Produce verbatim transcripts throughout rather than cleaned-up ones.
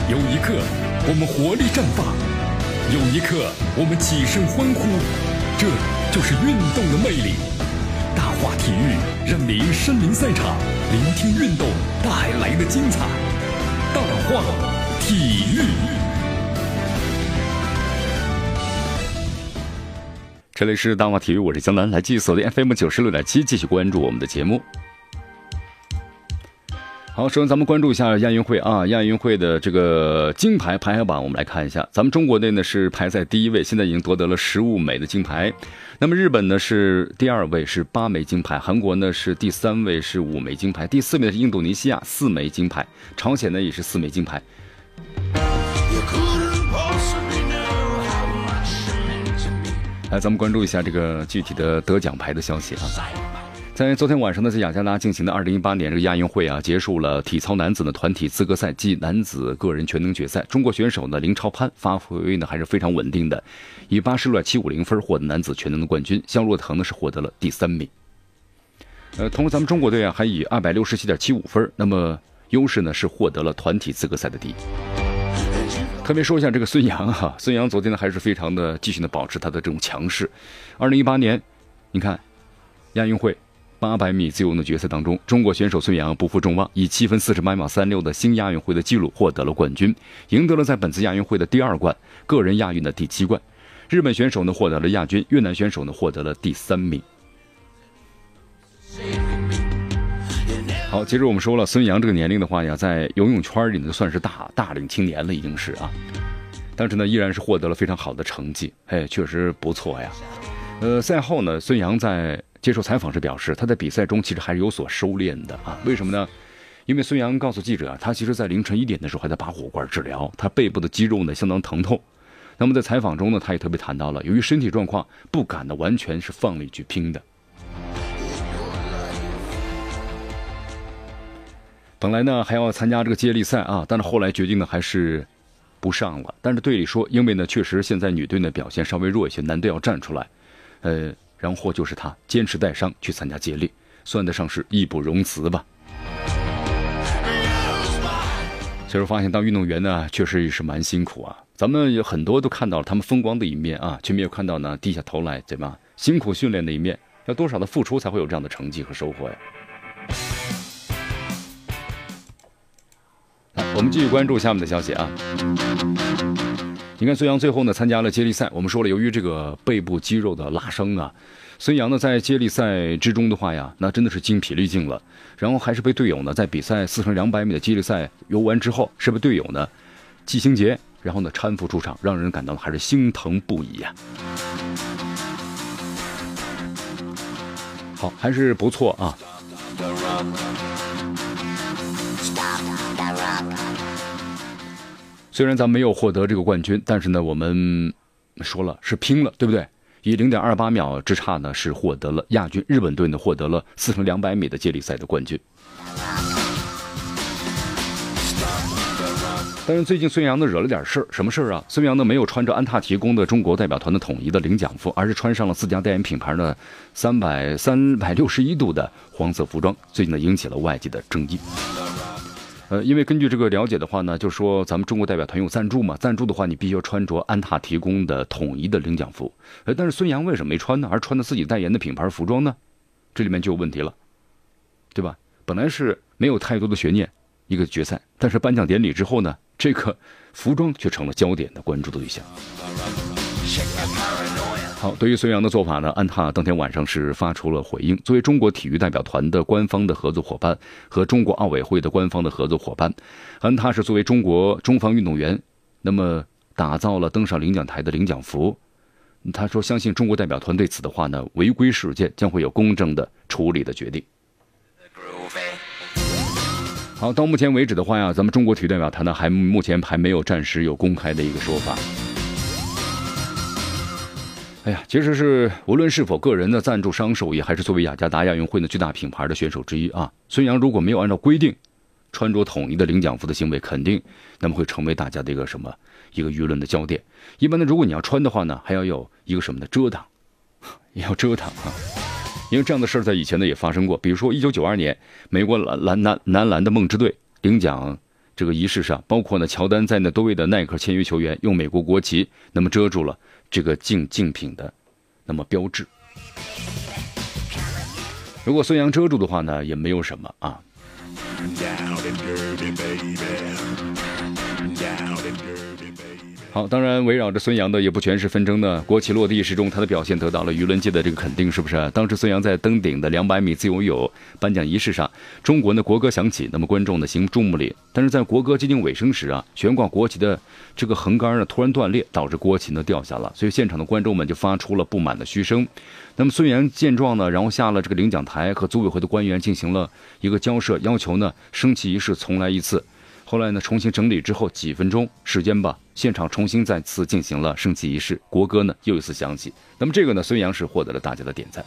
有一刻我们活力绽放，有一刻我们起身欢呼，这就是运动的魅力。大话体育让您身临赛场，聆听运动带来的精彩。大话体育，这里是大话体育，我是江南，来继续锁定 F M 九十六点七，继续关注我们的节目。好，首先咱们关注一下亚运会啊，亚运会的这个金牌排行榜，我们来看一下。咱们中国队呢是排在第一位，现在已经夺得了十五枚的金牌。那么日本呢是第二位，是八枚金牌；韩国呢是第三位，是五枚金牌；第四位是印度尼西亚，四枚金牌；朝鲜呢也是四枚金牌。来，咱们关注一下这个具体的得奖牌的消息啊。在昨天晚上呢，在雅加达进行的二零一八年这个亚运会啊，结束了体操男子的团体资格赛暨男子个人全能决赛。中国选手呢林超攀发挥呢还是非常稳定的，以八十六点七五零分获得男子全能的冠军。肖若腾呢是获得了第三名。呃，同时咱们中国队啊还以二百六十七点七五分，那么优势呢是获得了团体资格赛的第一。特别说一下这个孙杨哈、啊，孙杨昨天呢还是非常的继续的保持他的这种强势。二零一八年，你看亚运会八百米自由泳的决赛当中，中国选手孙杨不负众望，以七分四十八秒三六的新亚运会的纪录获得了冠军，赢得了在本次亚运会的第二冠，个人亚运的第七冠。日本选手呢获得了亚军，越南选手呢获得了第三名。好，接着我们说了，孙杨这个年龄的话呀，在游泳圈里呢算是大大龄青年了，已经是啊，但是呢依然是获得了非常好的成绩，哎，确实不错呀。呃，赛后呢，孙杨在接受采访时表示，他在比赛中其实还是有所收敛的啊。为什么呢？因为孙杨告诉记者，他其实在凌晨一点的时候还在拔火罐治疗，他背部的肌肉呢相当疼痛。那么在采访中呢，他也特别谈到了，由于身体状况不敢呢完全是放力去拼的。本来呢还要参加这个接力赛啊，但是后来决定呢还是不上了。但是队里说，因为呢确实现在女队呢表现稍微弱一些，男队要站出来，呃。然后就是他坚持带伤去参加接力，算得上是义不容辞吧。所以说发现当运动员呢确实是蛮辛苦啊，咱们有很多都看到了他们风光的一面啊，却没有看到呢低下头来对吧辛苦训练的一面，要多少的付出才会有这样的成绩和收获呀。我们继续关注下面的消息啊。你看孙杨最后呢参加了接力赛，我们说了，由于这个背部肌肉的拉伤啊，孙杨呢在接力赛之中的话呀，那真的是精疲力尽了，然后还是被队友呢在比赛四乘两百米的接力赛游完之后，是被队友呢季星杰然后呢搀扶出场，让人感到还是心疼不已呀、啊。好，还是不错啊。虽然咱们没有获得这个冠军，但是呢我们说了是拼了，对不对？以 零点二八秒之差呢是获得了亚军，日本队呢获得了四乘两百米的接力赛的冠军。但是最近孙杨呢惹了点事儿，什么事儿啊？孙杨呢没有穿着安踏提供的中国代表团的统一的领奖服，而是穿上了自家代言品牌的三百三百六十一度的黄色服装，最近呢引起了外界的争议。呃，因为根据这个了解的话呢，就说咱们中国代表团有赞助嘛，赞助的话你必须要穿着安踏提供的统一的领奖服。呃，但是孙杨为什么没穿呢？而穿的自己代言的品牌服装呢？这里面就有问题了，对吧？本来是没有太多的悬念一个决赛，但是颁奖典礼之后呢，这个服装却成了焦点的关注的对象。好，对于孙杨的做法呢，安踏当天晚上是发出了回应。作为中国体育代表团的官方的合作伙伴和中国奥委会的官方的合作伙伴，安踏是作为中国中方运动员，那么打造了登上领奖台的领奖服。他说，相信中国代表团对此的话呢，违规事件将会有公正的处理的决定。好，到目前为止的话呀，咱们中国体育代表团呢，还目前还没有暂时有公开的一个说法。哎呀，其实是无论是否个人的赞助商受益，还是作为雅加达亚运会的巨大品牌的选手之一啊，孙杨如果没有按照规定穿着统一的领奖服的行为，肯定那么会成为大家的一个什么一个舆论的焦点。一般的，如果你要穿的话呢，还要有一个什么的遮挡，也要遮挡啊。因为这样的事儿在以前呢也发生过，比如说一九九二年，美国篮篮男男篮的梦之队领奖这个仪式上，包括呢乔丹在内多位的耐克签约球员用美国国旗那么遮住了这个竞竞品的那么标志。如果孙杨遮住的话呢，也没有什么啊。好，当然围绕着孙杨的也不全是纷争呢。国旗落地时中，他的表现得到了舆论界的这个肯定，是不是？当时孙杨在登顶的两百米自由泳颁奖仪式上，中国的国歌响起，那么观众呢行注目礼。但是在国歌接近尾声时啊，悬挂国旗的这个横杆呢突然断裂，导致国旗呢掉下了，所以现场的观众们就发出了不满的嘘声。那么孙杨见状呢，然后下了这个领奖台，和组委会的官员进行了一个交涉，要求呢升旗仪式重来一次。后来呢，重新整理之后几分钟时间吧，现场重新再次进行了升旗仪式，国歌呢又一次响起。那么这个呢，孙杨是获得了大家的点赞。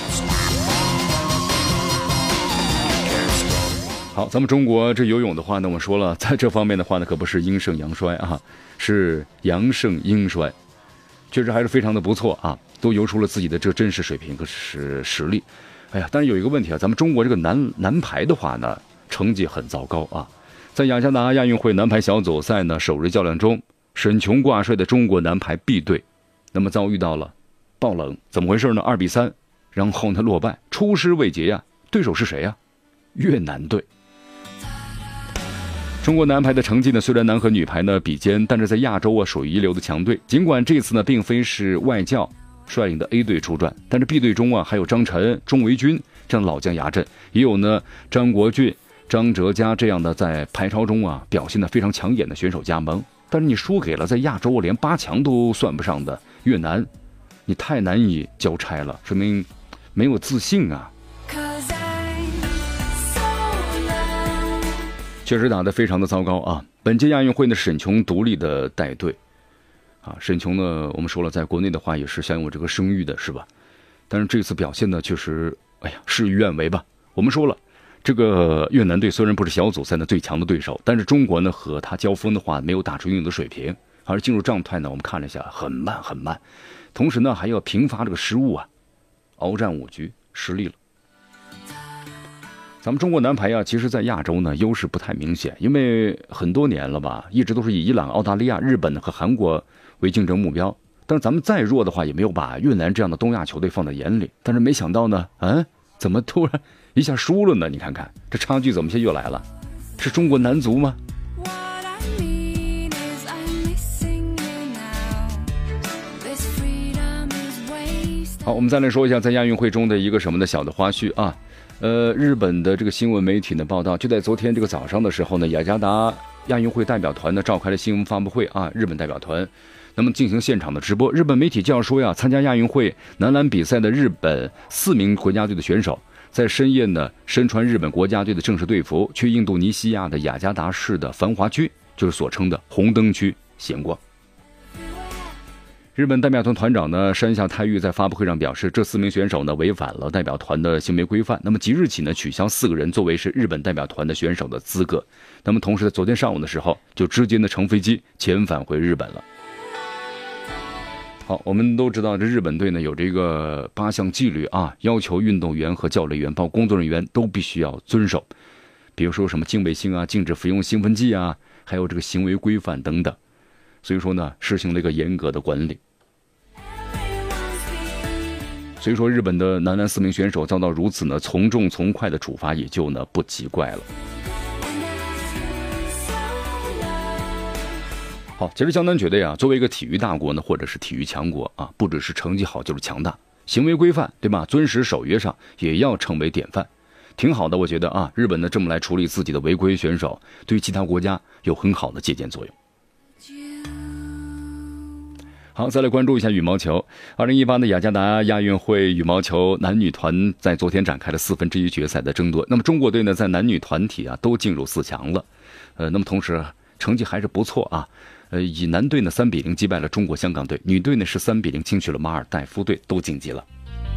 好，咱们中国这游泳的话呢，我说了，在这方面的话呢，可不是阴盛阳衰啊，是阳盛阴衰，确实还是非常的不错啊，都游出了自己的这真实水平和实实力。哎呀，但是有一个问题啊，咱们中国这个男男排的话呢，成绩很糟糕啊。在雅加达亚运会男排小组赛呢首日较量中，沈琼挂帅的中国男排 B 队，那么遭遇到了爆冷，怎么回事呢？二比三，然后呢落败，出师未捷呀。对手是谁呀？越南队。中国男排的成绩呢，虽然男和女排呢比肩，但是在亚洲啊属于一流的强队。尽管这次呢并非是外教率领的 A 队出战，但是 B 队中啊还有张晨、钟维军这样老将压阵，也有呢张国俊、张哲嘉这样的在排超中啊表现得非常抢眼的选手加盟。但是你输给了在亚洲连八强都算不上的越南，你太难以交差了，说明没有自信啊。确实打得非常的糟糕啊！本届亚运会呢，沈琼独立的带队啊。沈琼呢，我们说了，在国内的话也是享有这个声誉的，是吧？但是这次表现呢，确实，哎呀，事与愿违吧。我们说了，这个越南队虽然不是小组赛的最强的对手，但是中国呢和他交锋的话，没有打出应有的水平，而进入状态呢，我们看了一下，很慢很慢，同时呢还要频发这个失误啊，鏖战五局失利了。咱们中国男排啊，其实在亚洲呢优势不太明显，因为很多年了吧，一直都是以伊朗、澳大利亚、日本和韩国为竞争目标。但是咱们再弱的话，也没有把越南这样的东亚球队放在眼里。但是没想到呢，嗯，怎么突然一下输了呢？你看看这差距怎么现在又来了？是中国男足吗？好，我们再来说一下在亚运会中的一个什么的小的花絮啊。呃，日本的这个新闻媒体呢报道，就在昨天这个早上的时候呢，雅加达亚运会代表团呢召开了新闻发布会啊，日本代表团那么进行现场的直播。日本媒体就要说呀，参加亚运会男篮比赛的日本四名国家队的选手，在深夜呢身穿日本国家队的正式队服，去印度尼西亚的雅加达市的繁华区，就是所称的红灯区闲逛。日本代表团团长呢山下泰裕在发布会上表示，这四名选手呢违反了代表团的行为规范，那么即日起呢取消四个人作为是日本代表团的选手的资格。那么同时在昨天上午的时候，就直接呢乘飞机遣返回日本了。好，我们都知道这日本队呢有这个八项纪律啊，要求运动员和教练员包括工作人员都必须要遵守，比如说什么敬畏性啊，禁止服用兴奋剂啊，还有这个行为规范等等。所以说呢实行了一个严格的管理。所以说日本的男篮四名选手遭到如此呢从重从快的处罚，也就呢不奇怪了。好，其实江南觉得呀，作为一个体育大国呢，或者是体育强国啊，不只是成绩好就是强大，行为规范对吧，遵守守约上也要成为典范，挺好的。我觉得啊，日本呢这么来处理自己的违规选手，对于其他国家有很好的借鉴作用。好，再来关注一下羽毛球。二零一八的雅加达亚运会羽毛球男女团在昨天展开了四分之一决赛的争夺。那么中国队呢，在男女团体啊都进入四强了。呃，那么同时成绩还是不错啊。呃，以男队呢三比零击败了中国香港队，女队呢是三比零轻取了马尔代夫队，都晋级了。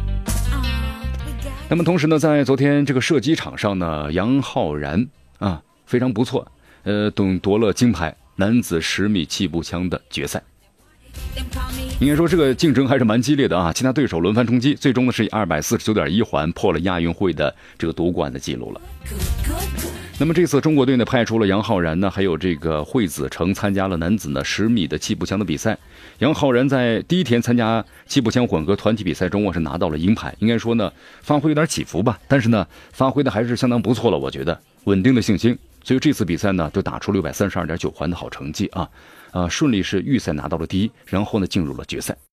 那么同时呢，在昨天这个射击场上呢，杨浩然啊非常不错，呃，夺夺了金牌，男子十米气步枪的决赛。应该说这个竞争还是蛮激烈的啊，其他对手轮番冲击，最终呢是以二百四十九点一环破了亚运会的这个夺冠的记录了。 那么这次中国队呢派出了杨浩然呢，还有这个惠子成参加了男子呢十米的气步枪的比赛。杨浩然在第一天参加气步枪混合团体比赛中啊是拿到了银牌，应该说呢发挥有点起伏吧，但是呢发挥的还是相当不错了，我觉得稳定的信心。所以这次比赛呢就打出六百三十二点九环的好成绩啊，啊顺利是预赛拿到了第一，然后呢进入了决赛。